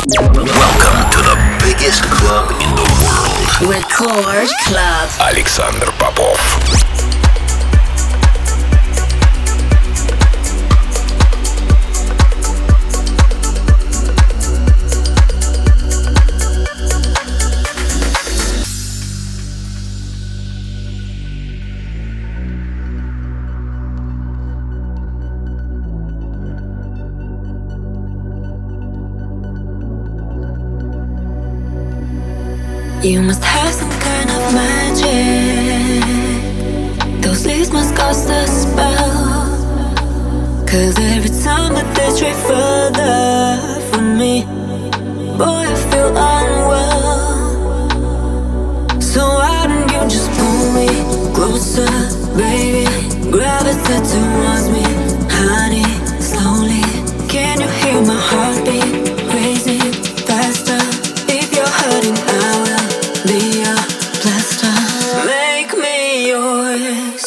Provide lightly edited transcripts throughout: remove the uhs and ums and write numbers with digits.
Welcome to the biggest club in the world. Record Club. Александр Попов. You must have some kind of magic. Those leaves must cast a spell. 'Cause every time that they stray further from me, boy, I feel unwell. So why don't you just pull me closer, baby? Gravitate towards me, honey, slowly. Can you hear my heartbeat racing faster? If you're hurting, I will be a plaster. Make me yours.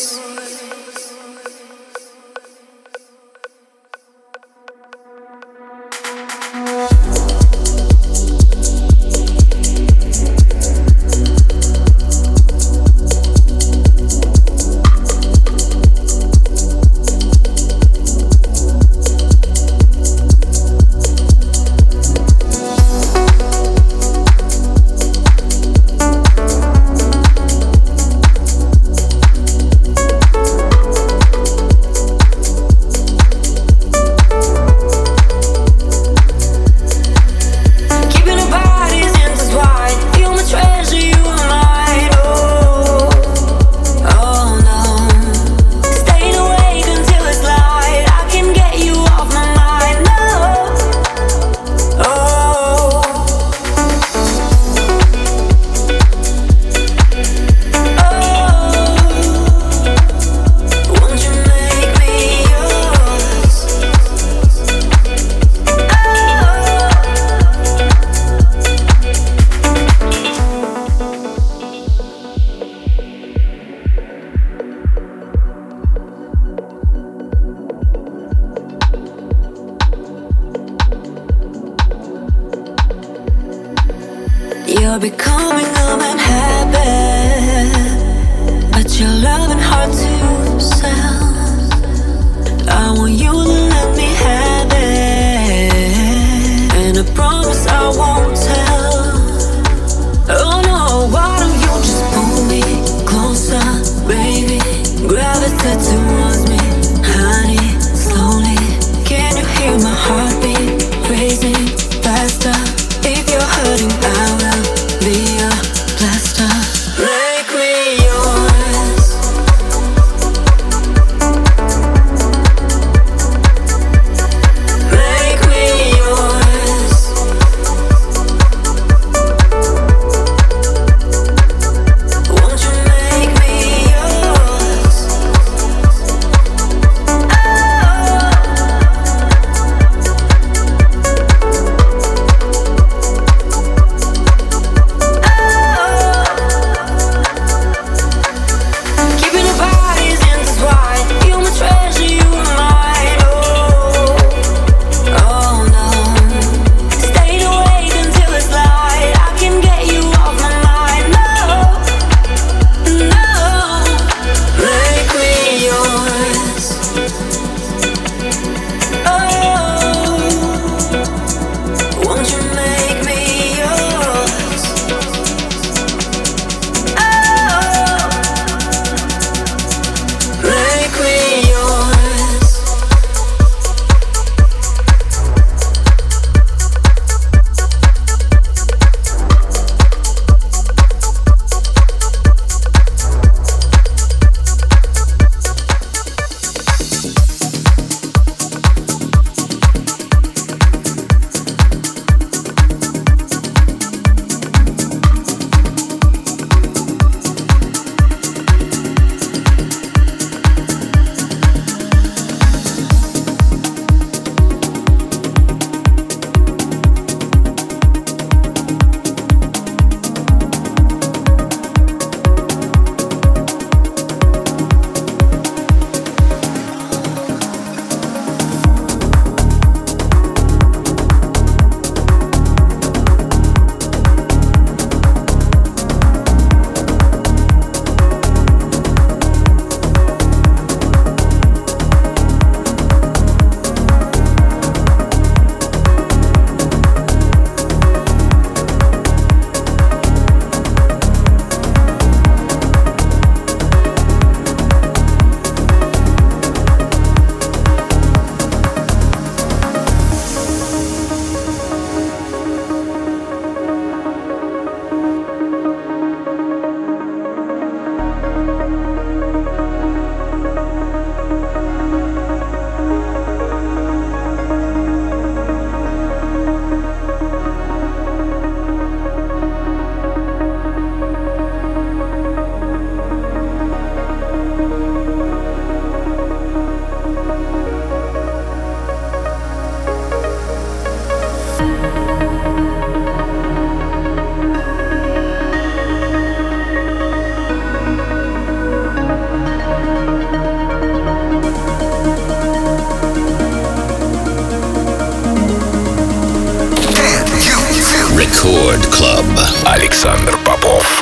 You're becoming a man habit, but you're loving hard to sell. I want you to let me have it, and I promise I won't tell. Oh no, why don't you just pull me closer, baby? Gravitate towards me, honey, slowly. Can you hear my heartbeat racing faster? If you're hurting, I will be a plaster. Make me yours. Record Club. Александр Попов.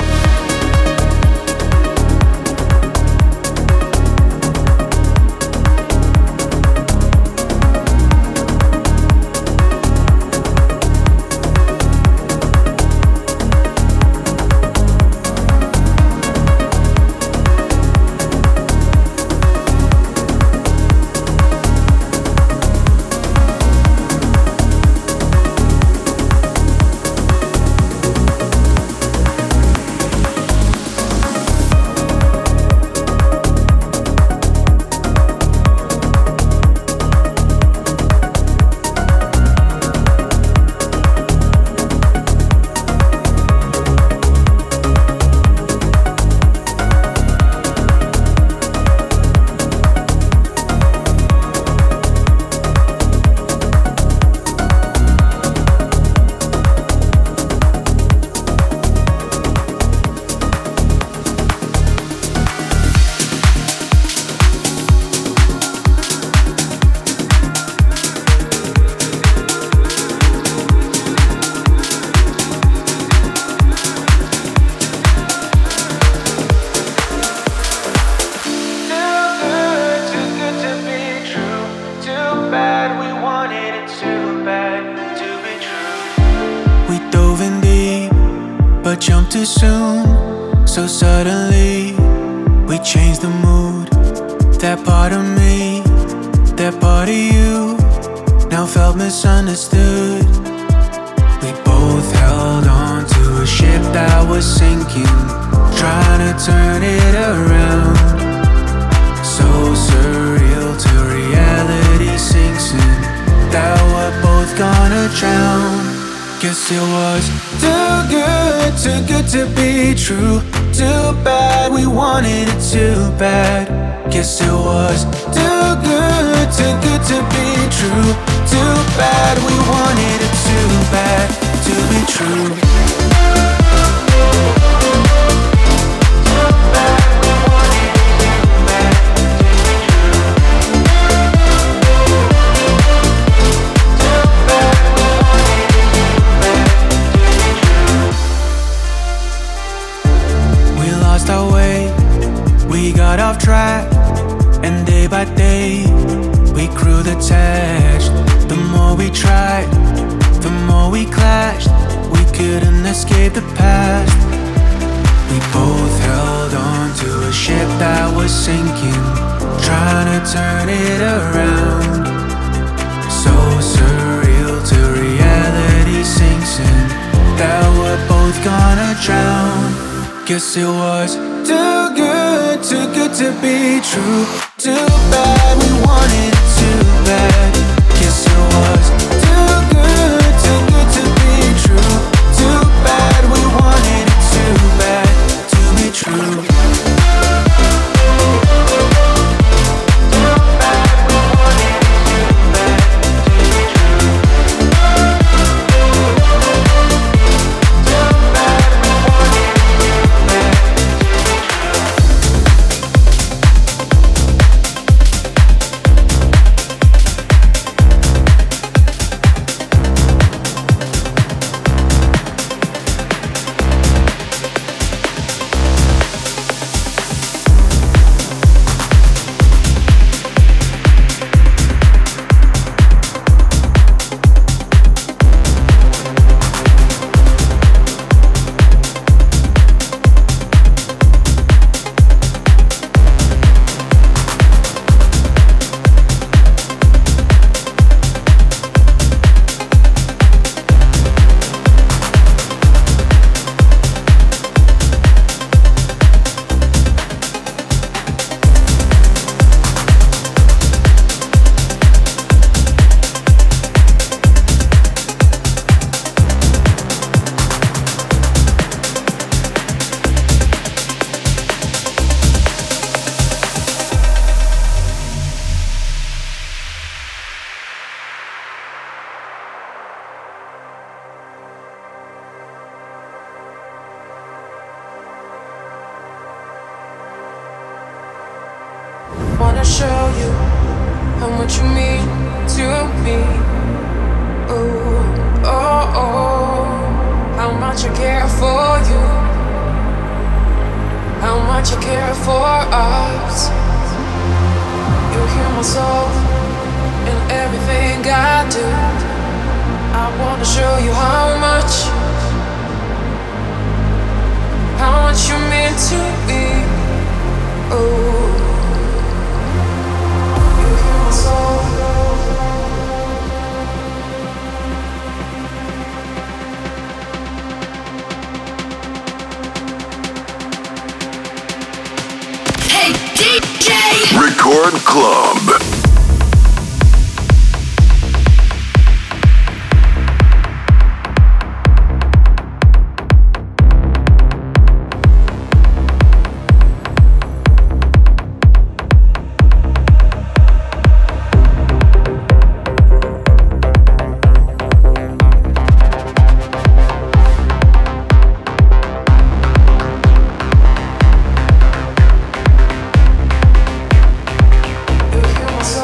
Jumped too soon, so suddenly we changed the mood. That part of me, that part of you, now felt misunderstood. We both held on to a ship that was sinking, trying to turn it around. So surreal till reality sinks in, that we're both gonna drown. Guess it was too good to be true. Too bad we wanted it too bad. Guess it was too good to be true. Too bad we wanted it too bad to be true. Too bad we wanted it too bad to be true. Too bad we wanted it too bad to be true. We lost our way, we got off track, and day by day we grew detached. The more we tried, the more we clashed. We couldn't escape the past. We both held on to a ship that was sinking, trying to turn it around. So surreal till reality sinks in, that we're both gonna drown. Guess it was too good to be true. Too bad we wanted it too bad. Guess it was too good to be true. Too bad we wanted it too bad to be true. Too bad we wanted it too bad to be true. Too bad we wanted it too bad to be true. show you how much you mean to me. Oh, oh, oh, how much I care for you, how much I care for us. You hear my soul in everything I do. I wanna show you how much you mean to me. Oh, you hear my soul. Hey DJ! Record Club. You hear my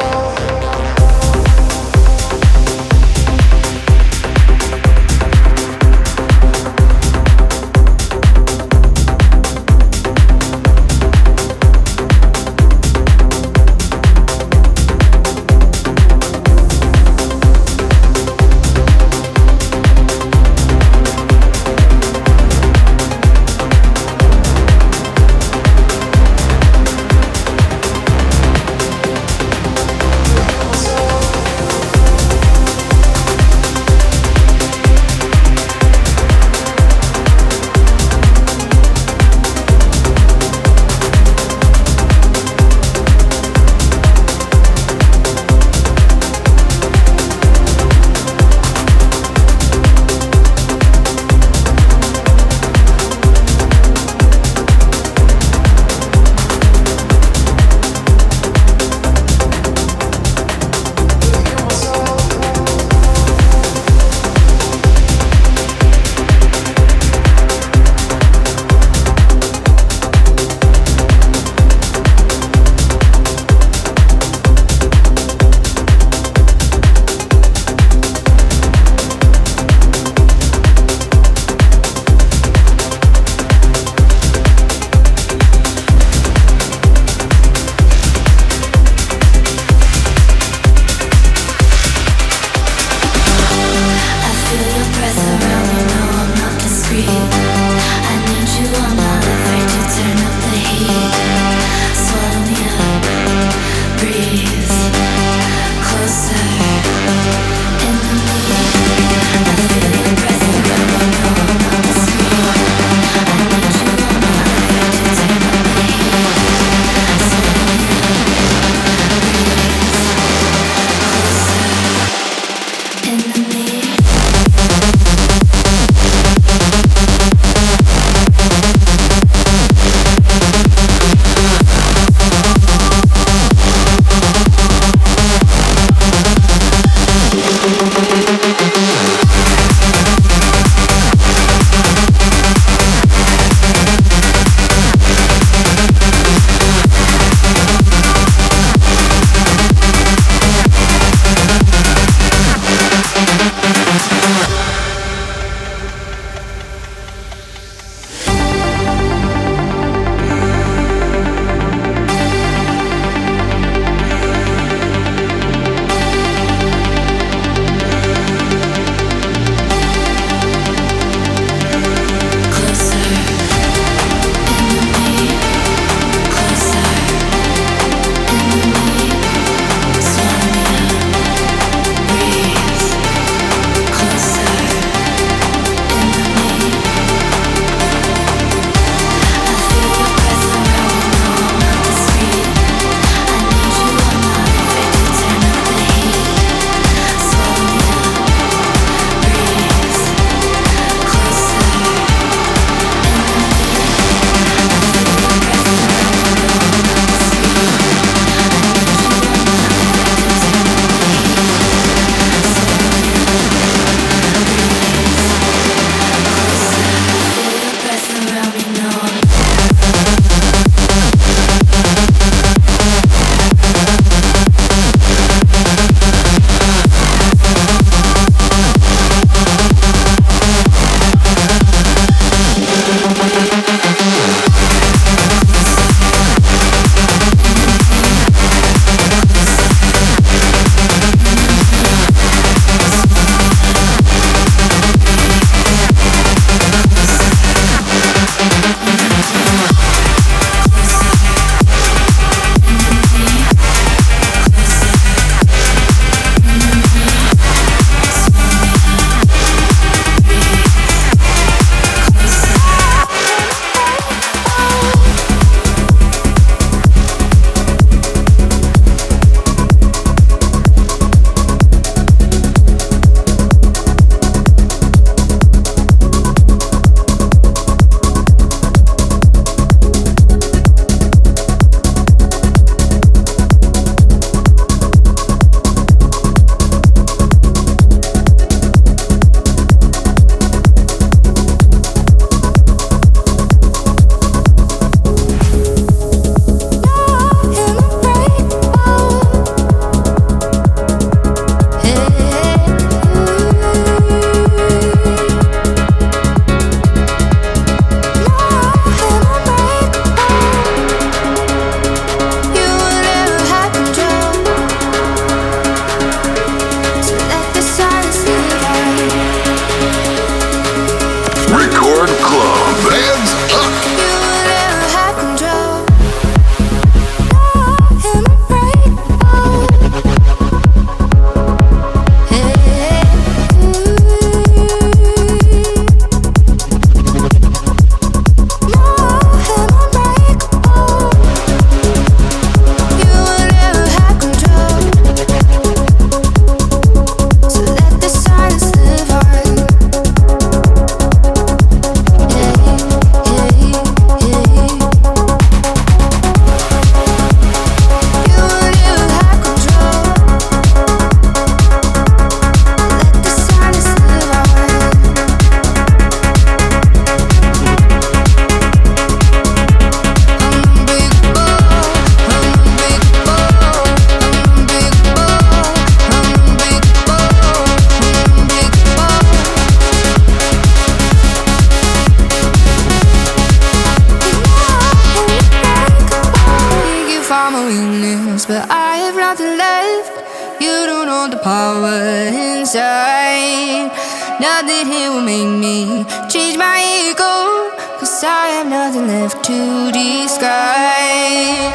thought that he would make me change my ego, 'cause I have nothing left to describe.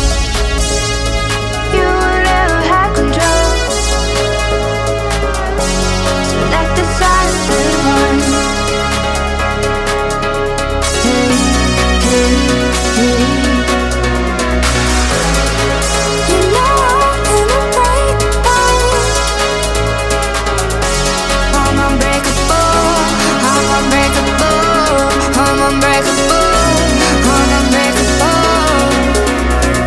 You will never have control, so let the silence run. Hey, hey, hey. You know I'm unbreakable. I'm unbreakable. I'm unbreakable. I'm unbreakable. I'm unbreakable.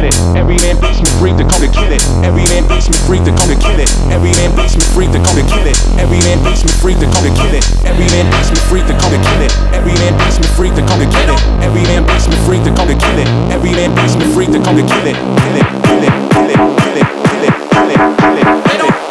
kill it. Every man beats me free to come to kill it. Every man beats me free to come to kill it. Every man beats me free to come to kill it. Every man beats me free to come to kill it. Every man beats me free to come to kill it. Every man beats me free to come to kill it. Every man beats me free to come to kill it. Every man beats me free to come to kill it. Kill it, kill it, kill it, kill it, kill it, kill it, kill it, kill it.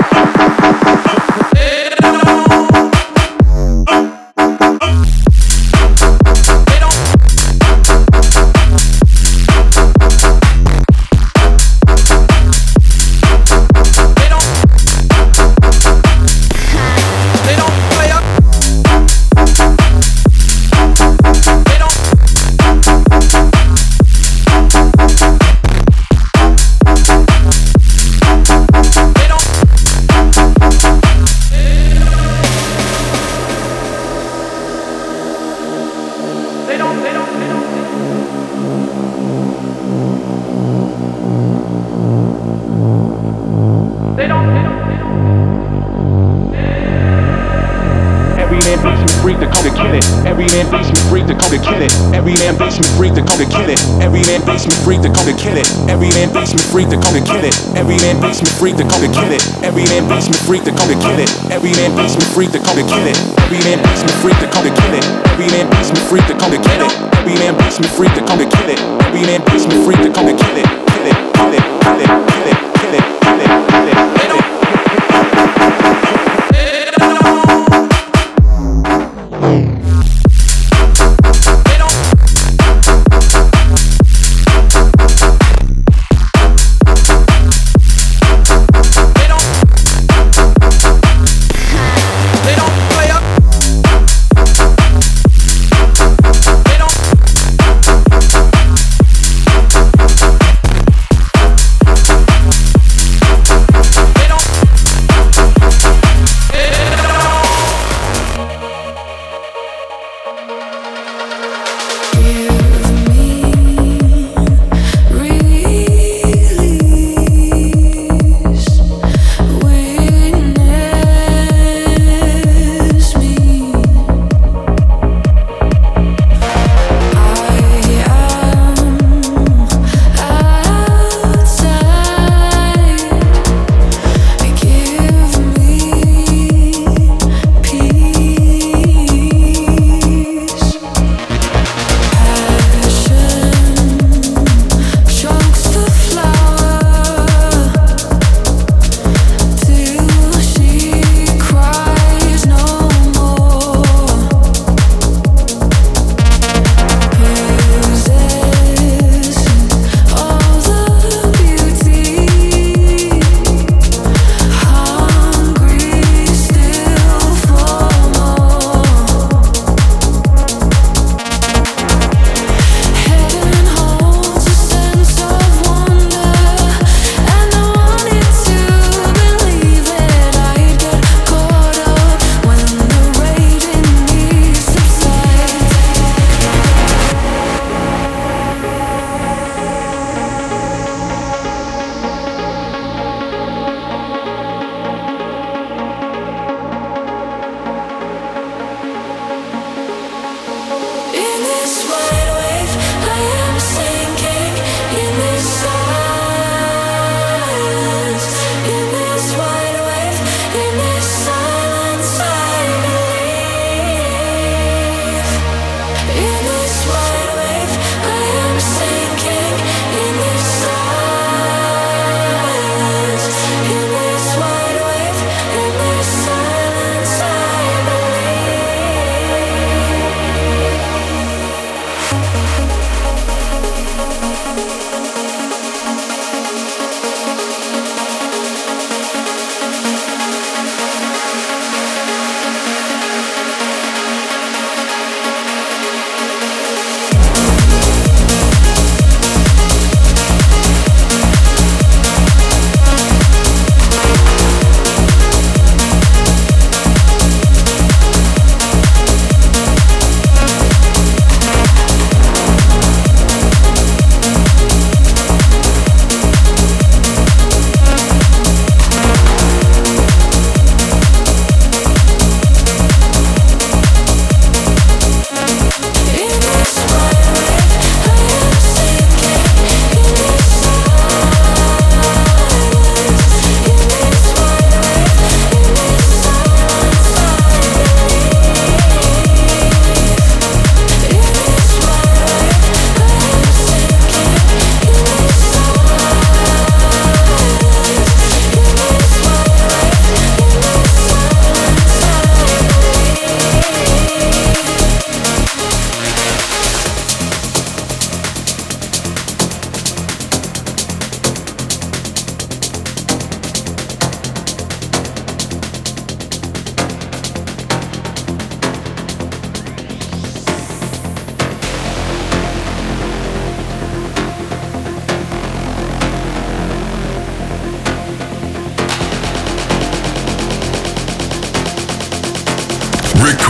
Every man beats me free to come to kill it. Every man beats me free to come to kill it. Every man beats me free to come to kill it. Every man beats me free to come to kill it. Every man beats me free to come to kill it. Every man beats me free to come to kill it. Every man beats me free to come to kill it. Every man beats me free to come to kill it. Kill it, kill it, kill it, kill it, kill it, kill it, kill it, kill it.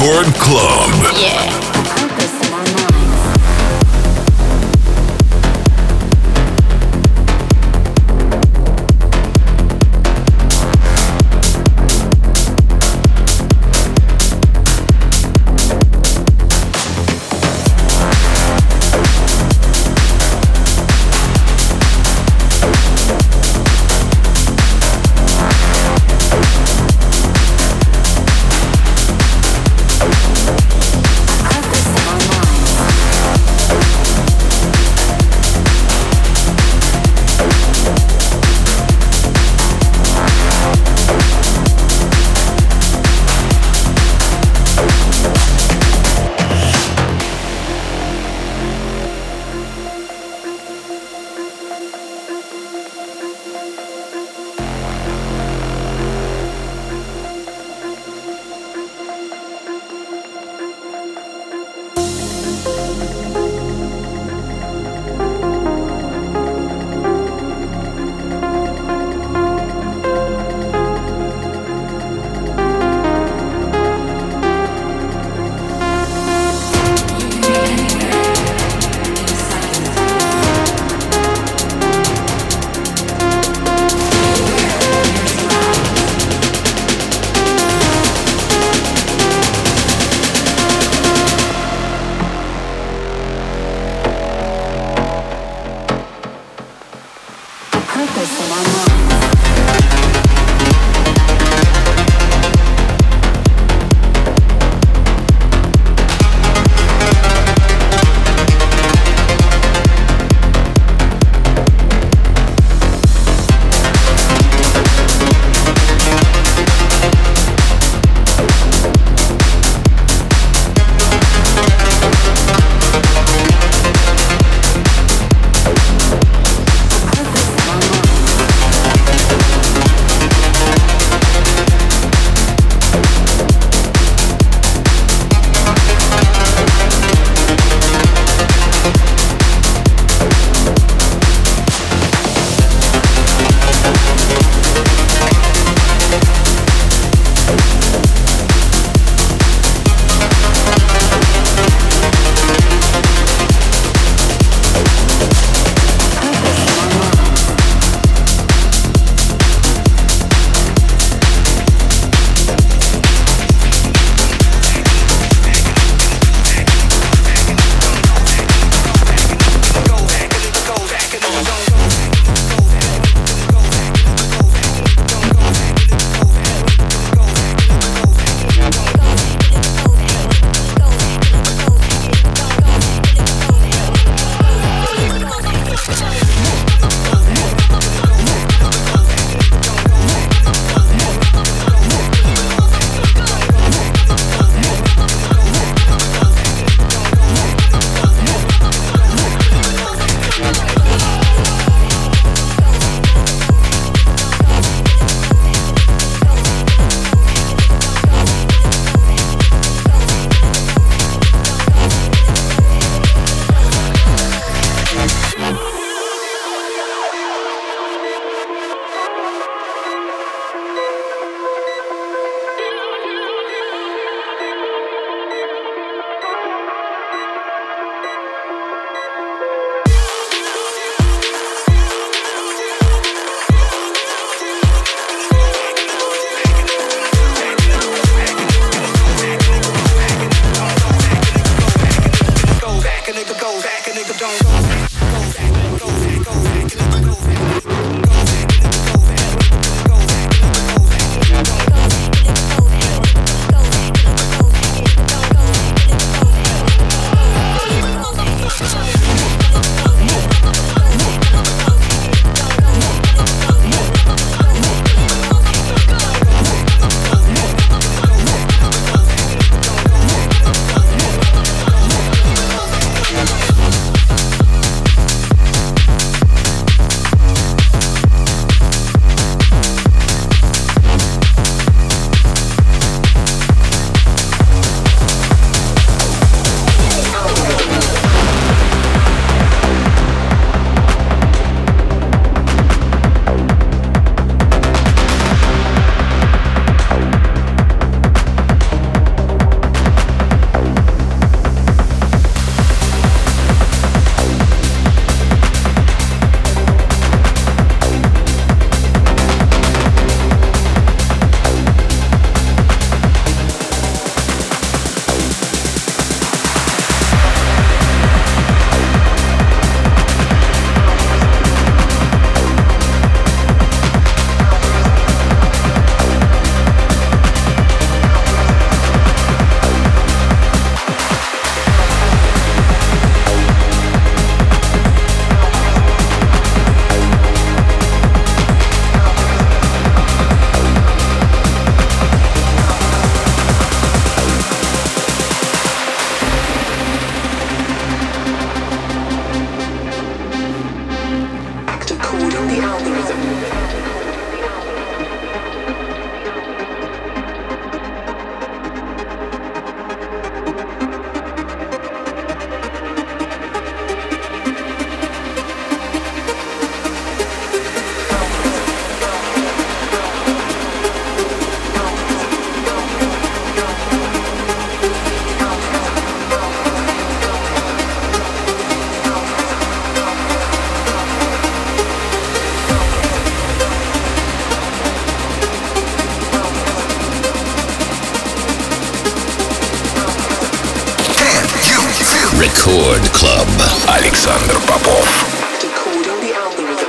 Record Club. Yeah. Record Club. Александр Попов. Decoding the algorithm.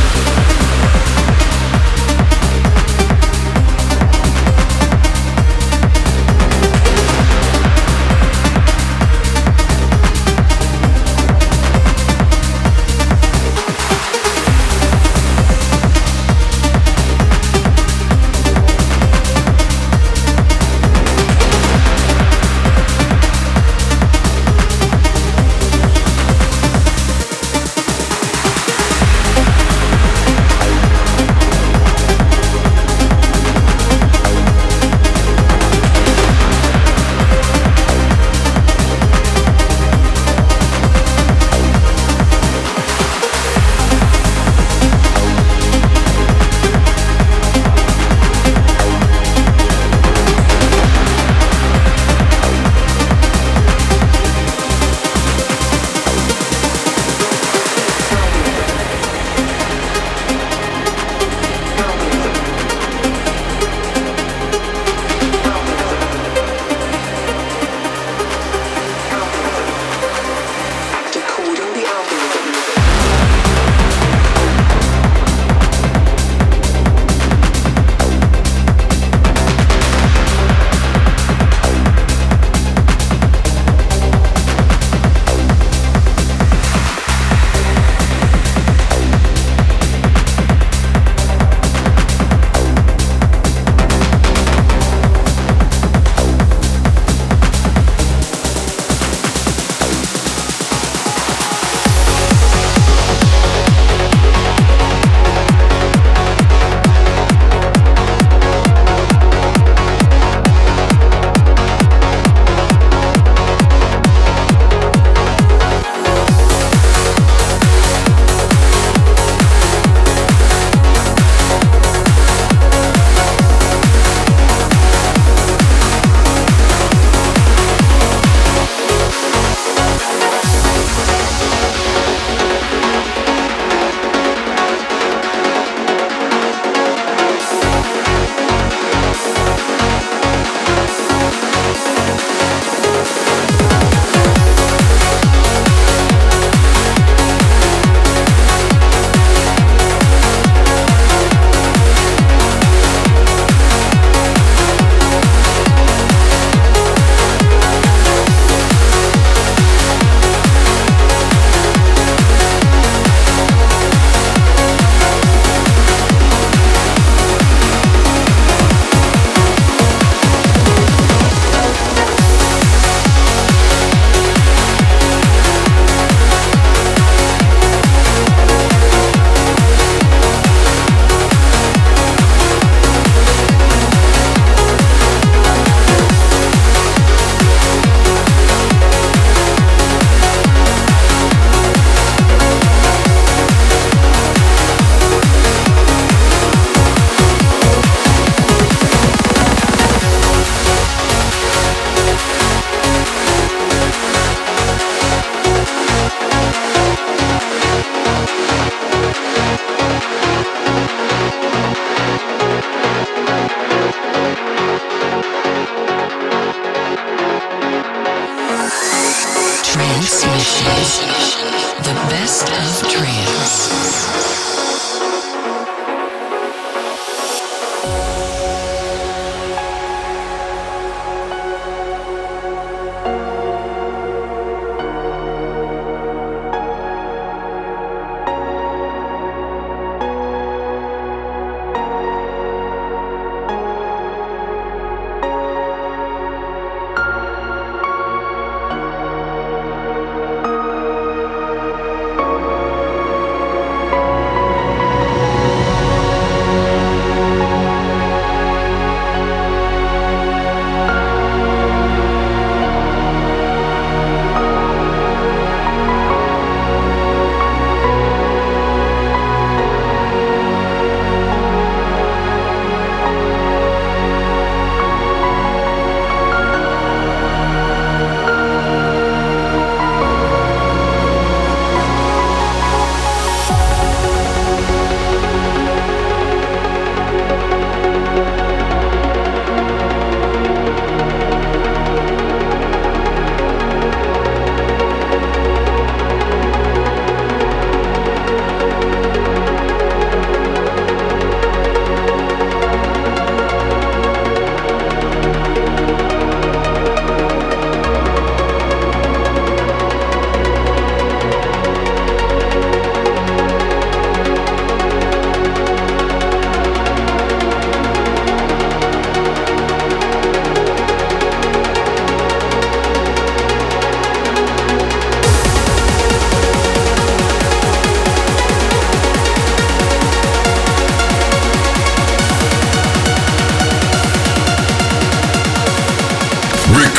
The best of trance.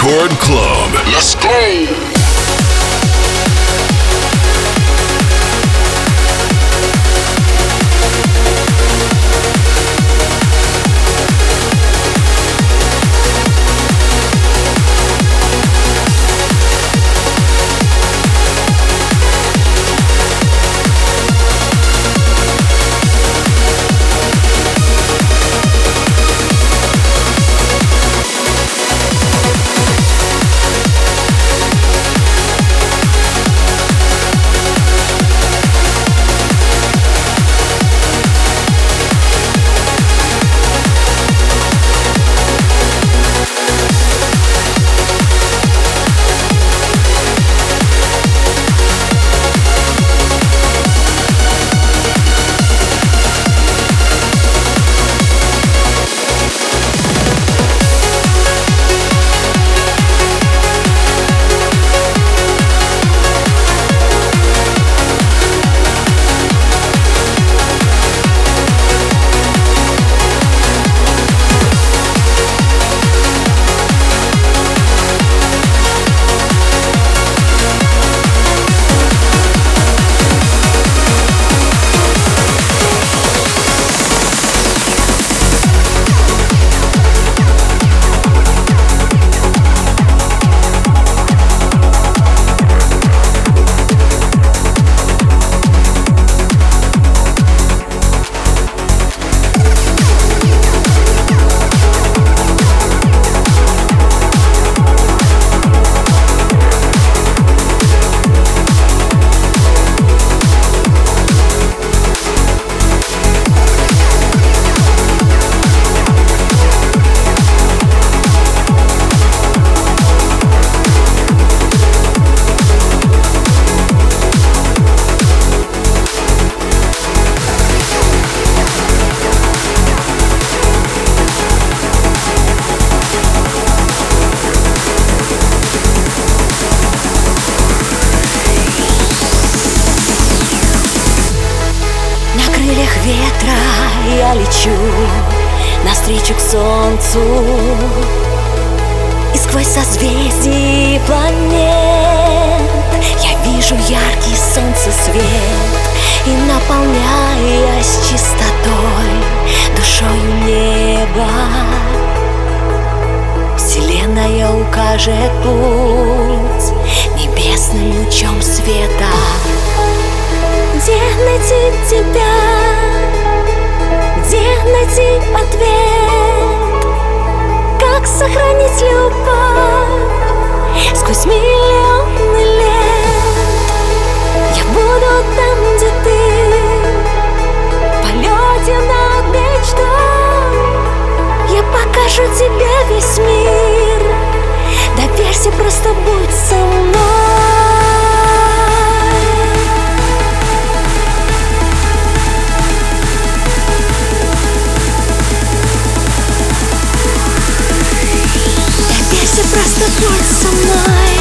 Record Club. Let's go! Навстречу к солнцу и сквозь созвездия планет я вижу яркий солнцесвет и, наполняясь чистотой, душою неба, Вселенная укажет путь небесным лучом света. Где найти тебя? Где найти ответ? Как сохранить любовь сквозь миллионы лет? Я буду там, где ты, в полете над мечтой. Я покажу тебе весь мир. Доверься, просто будь со мной. Просто будь со мной.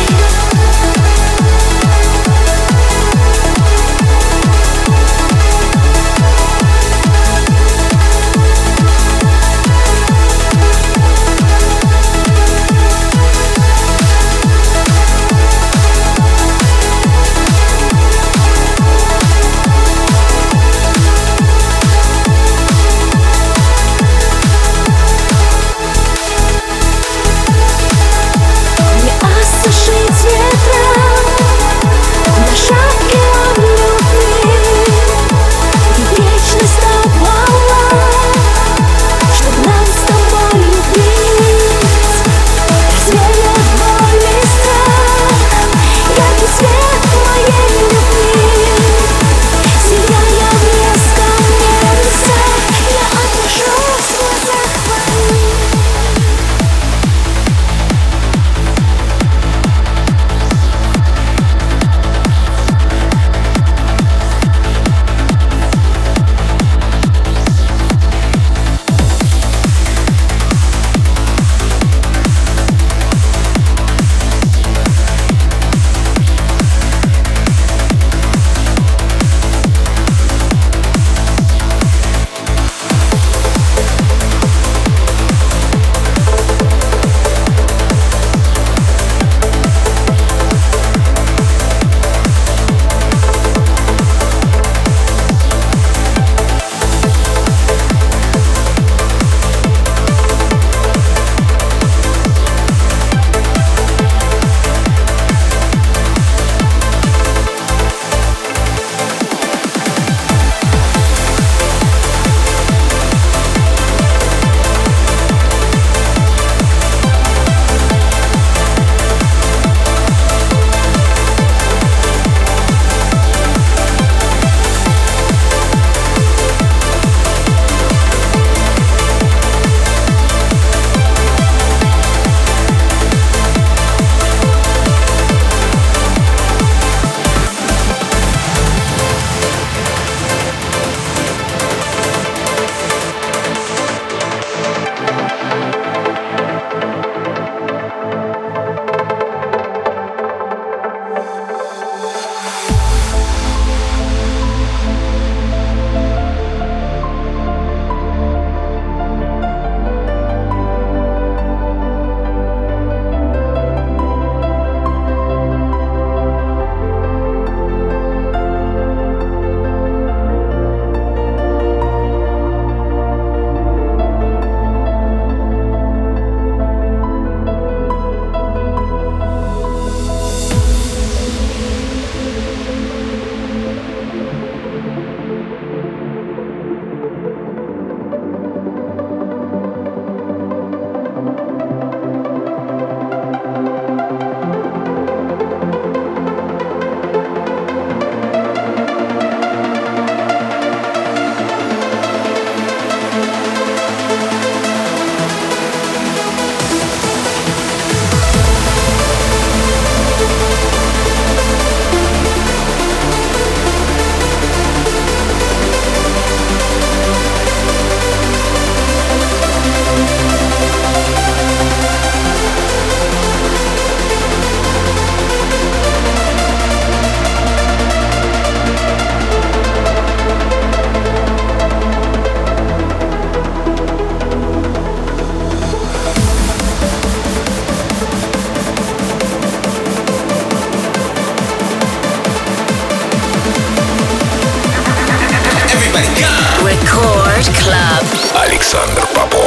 Club. Александр Попов.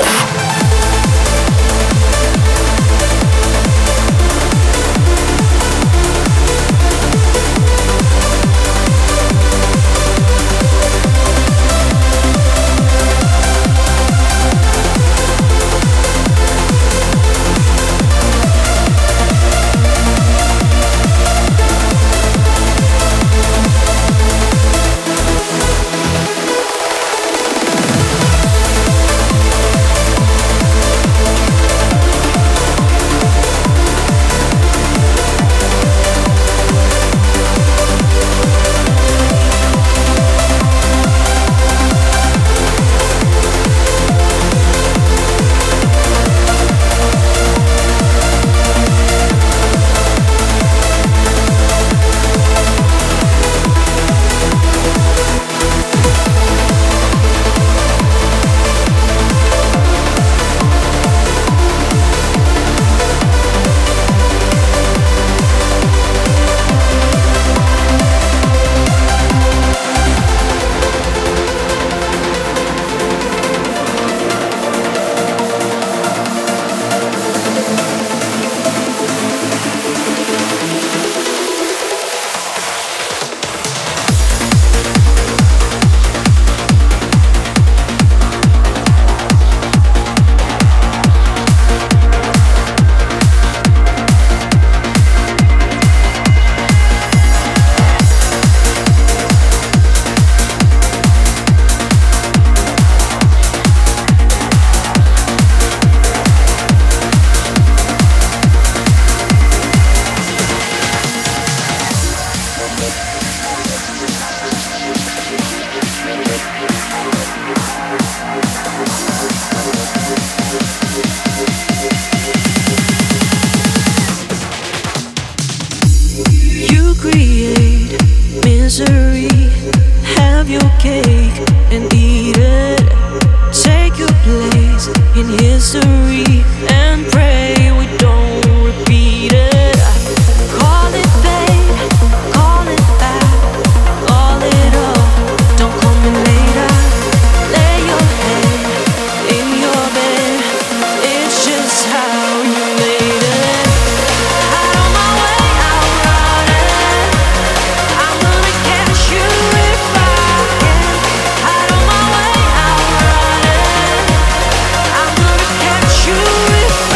If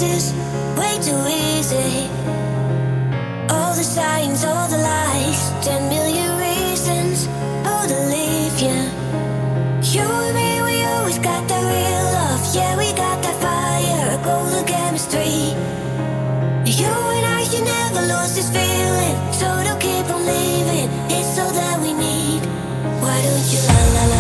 is way too easy. All the signs, all the lies, 10 million reasons, oh, to leave you. You and me, we always got that real love. Yeah, we got that fire, golden chemistry. You and I, you never lost this feeling, so don't keep on leaving. It's all that we need. Why don't you la la la?